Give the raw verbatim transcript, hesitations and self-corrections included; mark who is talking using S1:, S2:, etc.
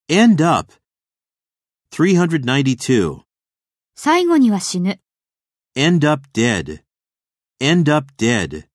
S1: End up. three hundred ninety-two.
S2: 最後には死ぬ。
S1: End up dead. End up dead.